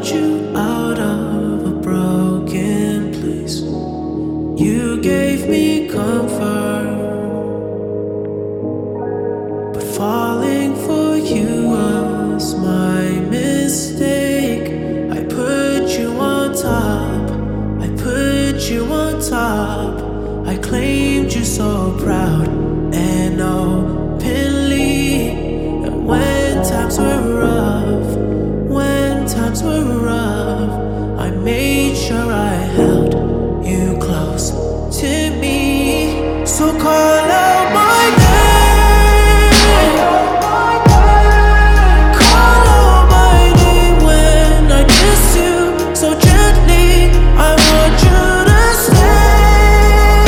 brought you out of a broken place. You gave me comfort, but falling for you was my mistake. I put you on top, I put you on top. I claimed you so proud and openly. And when times were rough, when times were rough, I made sure I held you close to me. So call out my name, call out my name when I kiss you so gently. I want you to stay,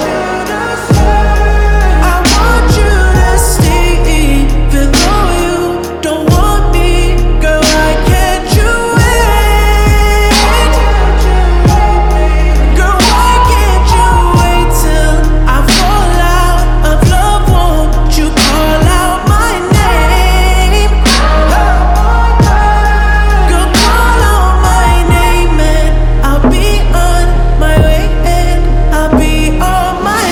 I want you to stay, even though you don't want me. Girl, I can't you wait? Girl, why can't you wait till I fall out of love? Won't you call out my name? Girl, call out my name and I'll be on my way, and I'll be on my.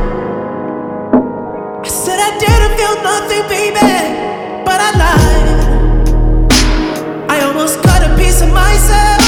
I said I didn't feel nothing, baby, but I lied. I almost cut a piece of myself.